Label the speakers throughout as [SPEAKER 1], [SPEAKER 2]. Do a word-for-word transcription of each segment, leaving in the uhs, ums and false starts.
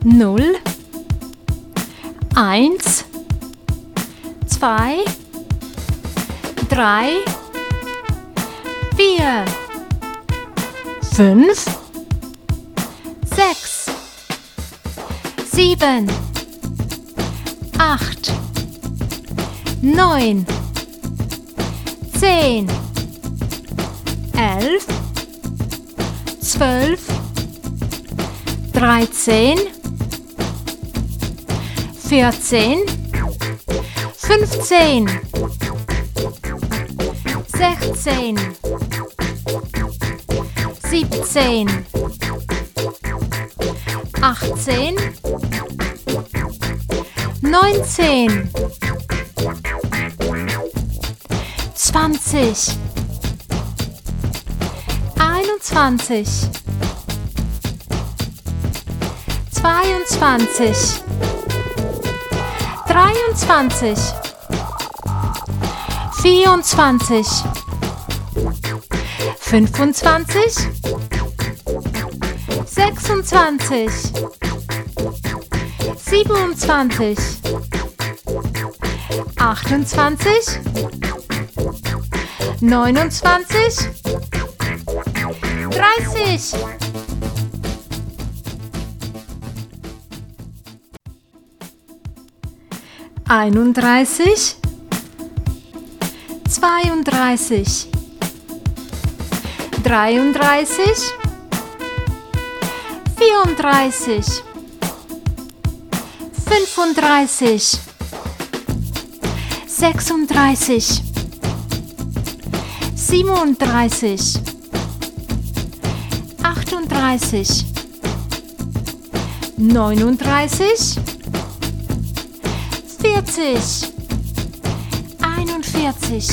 [SPEAKER 1] null, eins, zwei, drei, vier, fünf, sechs, sieben, acht, neun, zehn, elf, zwölf, dreizehn, vierzehn, fünfzehn, sechzehn, siebzehn, achtzehn, neunzehn, zwanzig, einundzwanzig, zweiundzwanzig, dreiundzwanzig, vierundzwanzig, fünfundzwanzig, sechsundzwanzig, siebenundzwanzig, achtundzwanzig, neunundzwanzig, dreißig. einunddreißig, zweiunddreißig, dreiunddreißig, vierunddreißig, fünfunddreißig, sechsunddreißig, siebenunddreißig, achtunddreißig, neununddreißig, vierzig, einundvierzig,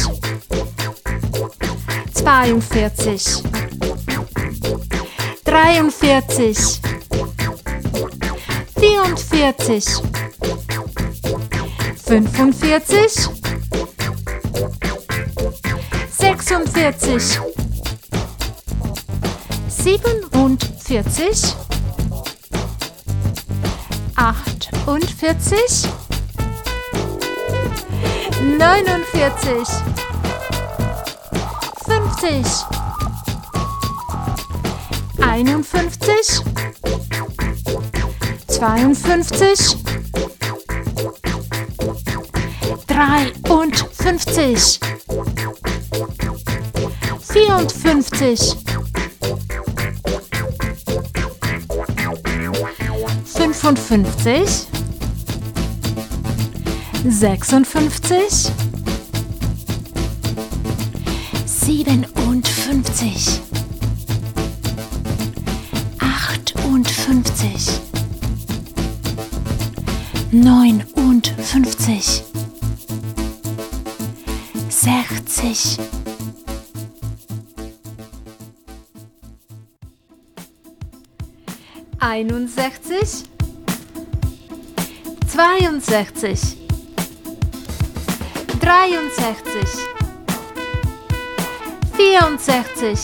[SPEAKER 1] zweiundvierzig, dreiundvierzig, vierundvierzig, fünfundvierzig, sechsundvierzig, siebenundvierzig, achtundvierzig, neunundvierzig, fünfzig, einundfünfzig, zweiundfünfzig, dreiundfünfzig, vierundfünfzig, fünfundfünfzig, sechsundfünfzig, siebenundfünfzig, achtundfünfzig, neunundfünfzig, sechzig. einundsechzig, zweiundsechzig, dreiundsechzig, vierundsechzig,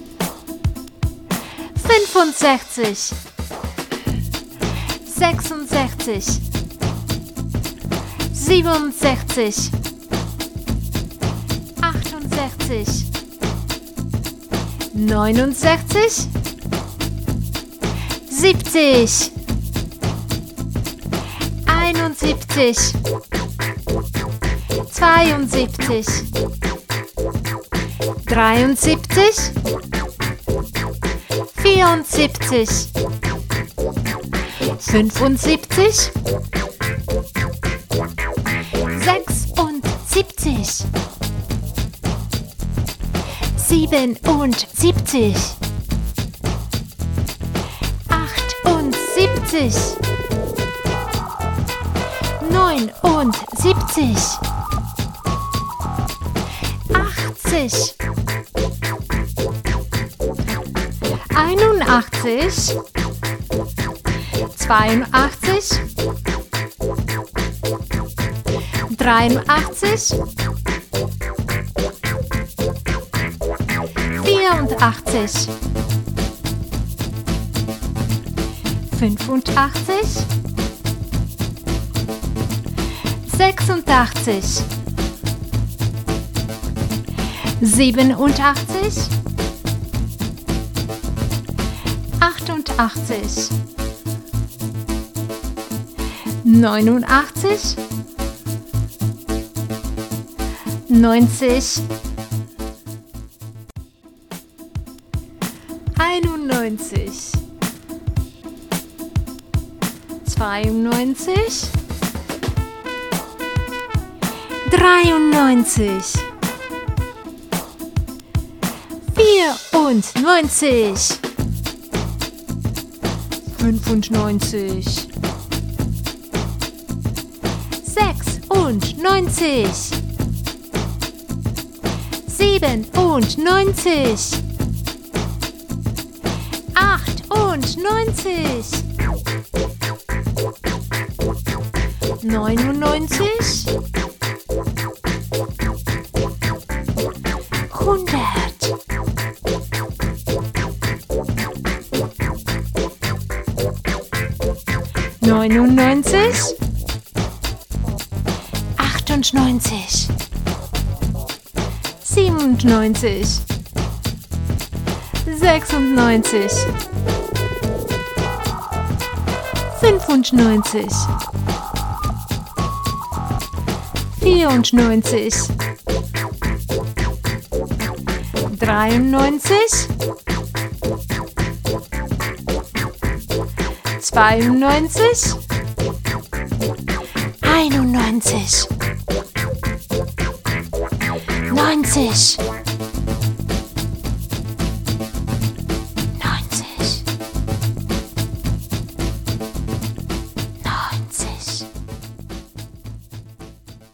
[SPEAKER 1] fünfundsechzig, sechsundsechzig, siebenundsechzig, achtundsechzig, neunundsechzig, siebzig, einundsiebzig, zweiundsiebzig, dreiundsiebzig, vierundsiebzig, fünfundsiebzig, sechsundsiebzig, siebenundsiebzig, achtundsiebzig, neunundsiebzig, achtzig, einundachtzig, zweiundachtzig, dreiundachtzig, vierundachtzig, fünfundachtzig, sechsundachtzig, siebenundachtzig, achtundachtzig, neunundachtzig, neunzig, einundneunzig, zweiundneunzig, dreiundneunzig, vierundneunzig, fünfundneunzig, sechsundneunzig, siebenundneunzig, achtundneunzig, neunundneunzig, hundert, neunundneunzig, achtundneunzig, siebenundneunzig, sechsundneunzig, fünfundneunzig, vierundneunzig, dreiundneunzig, zweiundneunzig, einundneunzig, neunzig,